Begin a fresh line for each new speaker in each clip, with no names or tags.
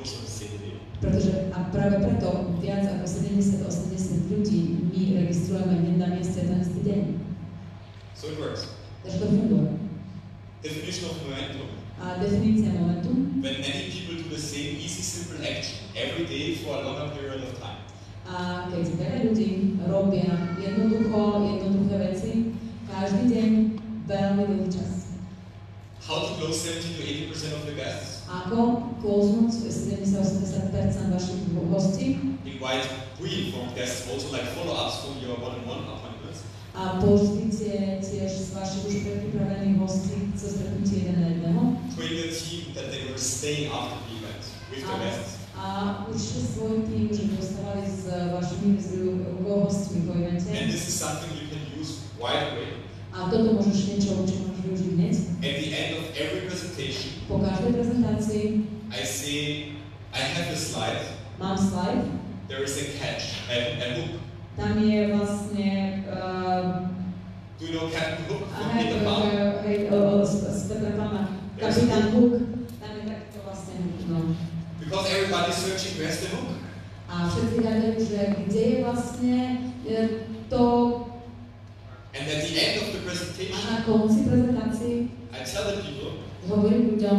course of the same day.
Pretože a práve preto viac ako 70-80 ľudí my registrujeme hneď na mieste ten istý deň.
So it works.
Takže to funguje.
Definition of momentum.
A definícia momentu.
When many people do the same easy, simple action every day for a longer period of time.
A keď veľa ľudí robia jednoduché veci, každý deň veľmi dlhý čas.
How to close 70 to 80% of the guests?
Ako closenúť 70-80% vašich hostí?
Invite pre-informed guests also like follow-ups from your one-on-one appointments.
A použite tiež z vašich už predpripravených hostí cez stretnutie jeden na jedného.
Train your team that they will stay after the event with the guests.
A učte svoj tým, že dostávali s vašimi hostmi po evente.
And this is something you can use right away.
A toto môžeš niečo, čo môžeš využiť hneď.
At the end of every presentation,
Po každej prezentácii
I say, I have a slide.
Mám slide.
There is a catch, a hook.
Tam je vlastne
Do you know Captain Hook from Peter Pan?
z Petra Pana. Kapitán Hook. Tam je takto vlastne hook, no.
Because everybody is searching where's the hook.
A všetci hľadajú, že kde je vlastne to.
And at the end of the
A
presentation,
na konci prezentácii
I tell the people,
hovorím ľuďom,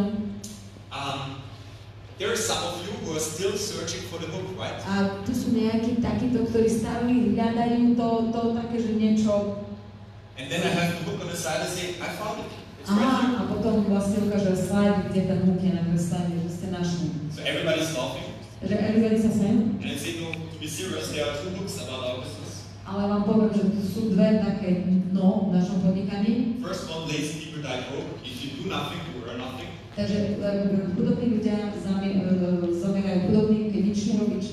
there are some of you who are still searching for the hook, right?
a tu sú nejakí takíto, ktorí stále hľadajú to také, že niečo.
And then I have the hook on the side and say, I found it. It's right here.
A potom vlastne ukáže slide, kde ten hook je na slide, že ste našli.
So everybody's laughing.
Že everybody sa smejú.
And I say, no, to be serious, there are two hooks about our business.
Ale vám poviem, že tu sú dve také dno v našom podnikaní.
First one, lazy people die broke. If you do nothing, you earn nothing.
Takže chudobní ľudia zomierajú chudobní, keď nič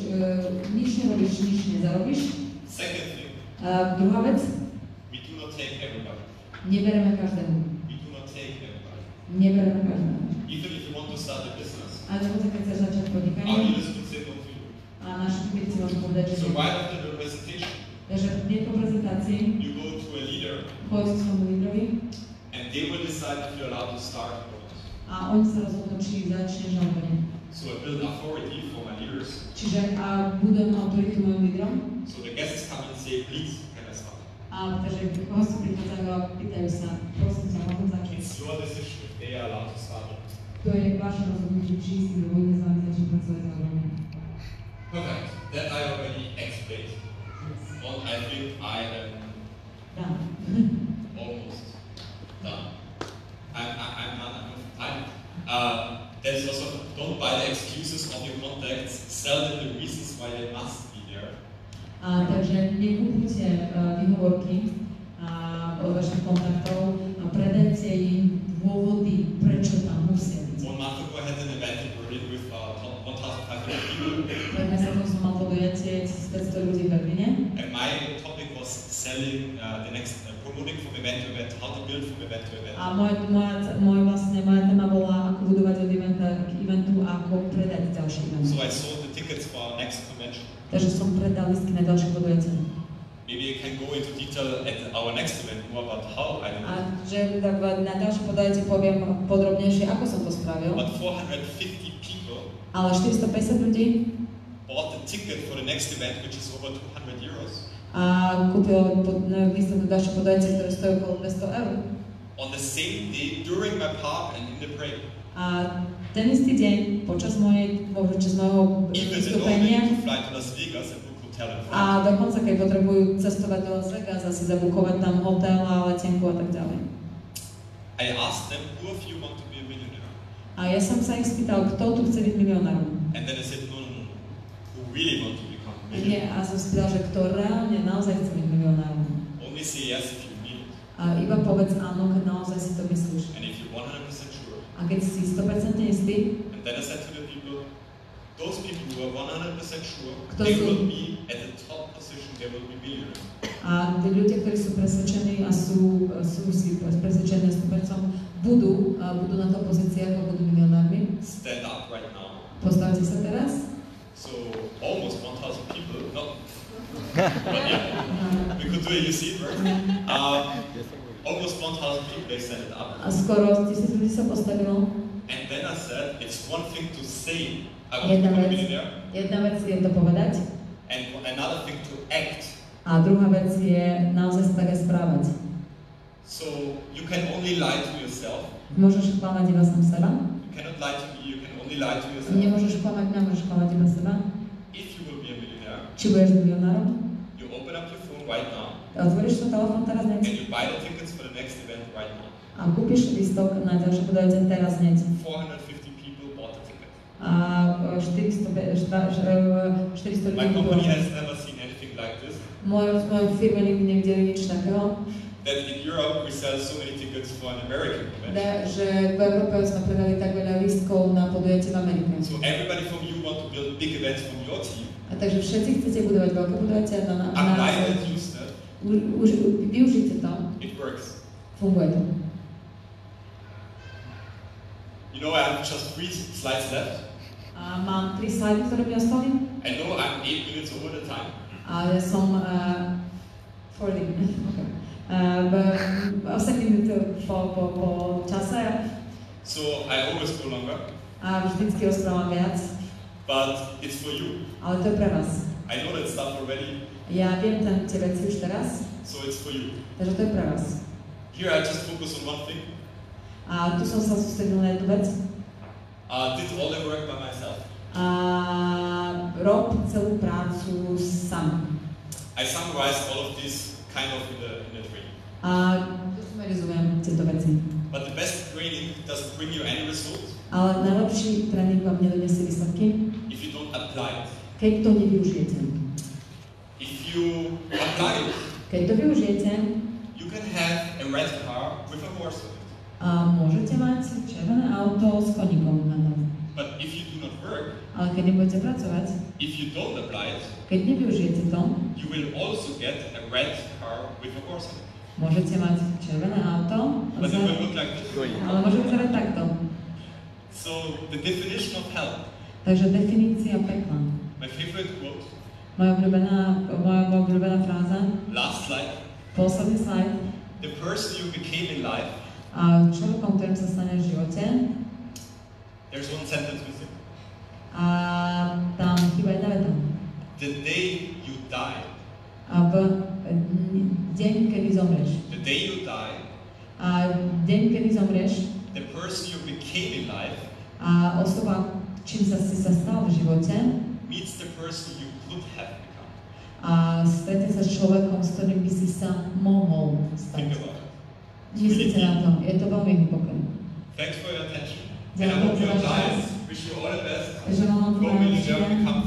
nerobíš, nič nezarobíš.
Second thing,
Druhá vec,
we do not take everybody.
nebereme každému.
We do not take everybody.
Nebereme každému.
Even if you want to start a business,
A dokonca keď chceš začať
our
podnikanie,
dealers would say no to you.
a naši klienti môžu povedať, že
So right after the presentation,
takže hneď po prezentácii
you go to a leader
pôjď k svojmu lídrovi
and they will decide if you're allowed to start or not.
a oni sa rozhodnú, či začneš alebo nie.
So I build authority for my leaders.
Čiže budem autoritu mojim lídrom.
So the guests come and say, please, can I start?
Takže hosti prichádzajú a pýtajú sa, prosím ťa, môžem začať.
It's your decision if they are allowed to start or not.
To je vaše rozhodnutie, či si dovolíte s vami začať pracovať alebo nie.
Perfect. That I already explained. Well, I think I am
Done.
almost done. I'm done. There's also, don't buy the excuses of your contacts, sell them the reasons why they must be there.
Takže nekúpite výhovorky od vašich kontaktov a predajte im dôvody, prečo tam musia byť.
1 month ago I had an event in Berlin with 1,500 people.
Pred mesiacom som mal podujatie 1500 ľudí v Berlíne.
And my topic was selling the next, promoting from event to event, how to build from event to event.
A moja téma bola, ako budovať od eventa k eventu a ako predať ďalší event.
So I sold the tickets for our next convention.
Takže som predal listky na ďalšie podujatie.
Maybe I can go into detail at our next event more about how I did it.
A že na ďalšie podujatie poviem podrobnejšie, ako som to spravil.
But 450 people
Ale 450 ľudí
bought the ticket for the next event, which is over 200 euros.
a kúpil lístok na ďalšie podujatie, ktoré stojí okolo 200 eur.
On the same day, during my part and in the break.
A ten istý deň, počas môjho
Even they don't
vystúpenia,
need to fly to Las Vegas and book hotel and flight.
a dokonca keď potrebujú cestovať do Las Vegas a si zabukovať tam hotel a letenku a tak ďalej.
I asked them, who of you want to be a millionaire?
A ja som sa ich spýtal, kto tu chce byť milionárom.
And then I said, no, who really want to become a
Nie,
millionaire?
a som spýtal, že kto reálne naozaj chce byť milionárom.
Only say yes if you mean it.
A iba povedz áno, keď naozaj si to myslíš.
And if you're 100% sure.
A keď si 100% istý,
And then I said to the people, those people who are 100% sure,
Kto
they
sú-
will be at the top position, they will be millionaires.
a tí ľudia, ktorí sú presvedčení a sú si presvedčení 100%, budú na to pozíciách a budú milionármi.
Stand up right now.
Postavte sa teraz.
So almost 1,000 people, not, but yeah, we could do it, you see it, right? Almost 1,000 people, they stand it up.
A skoro 1000 ľudí sa postavilo.
And then I said, it's one thing to say, I want to
Jedna
become a
vec,
millionaire,
jedna vec je to povedať
and another thing to act.
a druhá vec je naozaj sa tak aj správať.
So you can only lie to yourself.
Môžeš klamať iba sám seba,
You cannot lie to me, you can only lie to yourself.
nemôžeš klamať mňa, môžeš klamať iba seba.
If you will be a millionaire,
Či budeš milionárom,
you open up your phone right now,
otvoríš to telefón teraz hneď
and you buy the tickets for the next event right now.
a kúpiš lístok na ďalšie podujete teraz hneď.
450 people bought the ticket.
A 400 ľudí
My
bolo.
company has never seen anything like this.
Moje firme nikdy nevideli nič takého,
That in Europe we sell so many tickets for an American event.
že v Európe sme predali tak veľa lístkov na podujatie v Amerike.
So everybody from you want to build big events from your team.
A takže všetci chcete budovať veľké podujatia na
Apply that, use that.
využite to,
It works.
funguje to.
You know, I have just 3 slides left.
A mám 3 slajdy, ktoré mi ostali.
I know I'm 8 minutes over the time.
A ja som 40 okay. 8 minút po čase
So I always go longer,
a vždycky rozprávam viac,
but it's for you.
ale to je pre vás.
I know that stuff already,
Ja viem tie veci už teraz,
so it's for you.
takže to je pre vás.
Here I just focus on one thing.
A tu som sa sústredil na jednu vec.
Did all the work by myself.
A rob celú prácu sám.
I summarized all of this kind of in the training.
A sumarizujem tieto veci.
But the best training doesn't bring you any results
Ale najlepší tréning vám nedonesie výsledky,
if you don't apply it.
keď to nevyužijete.
If you apply it,
Keď to využijete,
you can have a red car with a horse on it.
a môžete mať červené auto s koníkom na tom.
But if you do not work,
Ale keď nebudete pracovať,
if you don't apply it,
keď nevyužijete to,
you will also get a red car with a horse on it.
môžete mať červené auto,
But it will look like this.
ale môže vyzerať takto.
So the definition of hell,
Takže definícia pekla.
my favorite quote,
Moja obľúbená fráza,
last slide,
posledný slajd.
the person you became in life,
A človekom, ktorým sa stane v živote,
there's one sentence missing.
a tam chýba jedna veta.
The day you die,
A v deň, kedy zomrieš.
the day you die,
A deň, kedy zomrieš,
the person you became in life
a osoba, čím sa si sa stal v živote,
meets the person you could have become.
a stretne sa s človekom, s ktorým by si sa mohol
Think
stať.
about it.
Myslíte na to, je to veľmi hlboké.
Thanks for your attention.
Yeah,
And I hope you
thanks for
apply
your
it. Wish you all the best.
Takže vám
Go millionaire, become